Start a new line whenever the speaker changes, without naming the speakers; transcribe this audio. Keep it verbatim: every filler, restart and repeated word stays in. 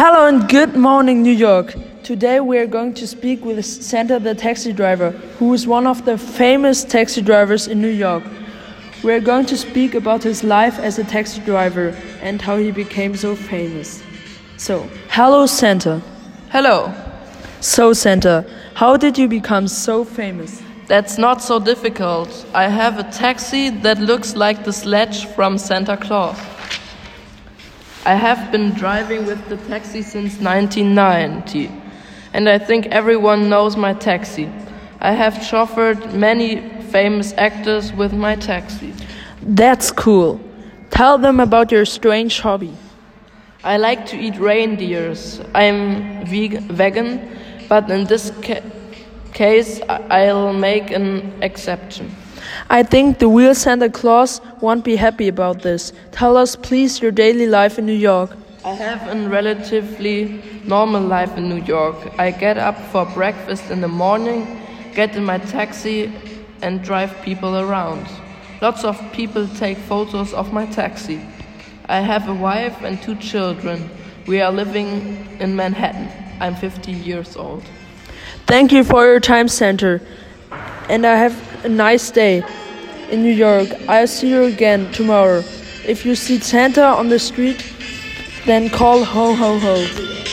Hello and good morning, New York. Today we are going to speak with Santa the taxi driver, who is one of the famous taxi drivers in New York. We are going to speak about his life as a taxi driver and how he became so famous. So, hello Santa.
Hello.
So Santa, how did you become so famous?
That's not so difficult. I have a taxi that looks like the sledge from Santa Claus. I have been driving with the taxi since nineteen ninety, and I think everyone knows my taxi. I have chauffeured many famous actors with my taxi.
That's cool. Tell them about your strange hobby.
I like to eat reindeers. I'm veg- vegan, but in this ca- case, I- I'll make an exception.
I think the real Santa Claus won't be happy about this. Tell us please your daily life in New York.
I have a relatively normal life in New York. I get up for breakfast in the morning, get in my taxi, and drive people around. Lots of people take photos of my taxi. I have a wife and two children. We are living in Manhattan. I'm fifty years old.
Thank you for your time, Santa. And I have a nice day in New York. I'll see you again tomorrow. If you see Santa on the street, then call ho ho ho.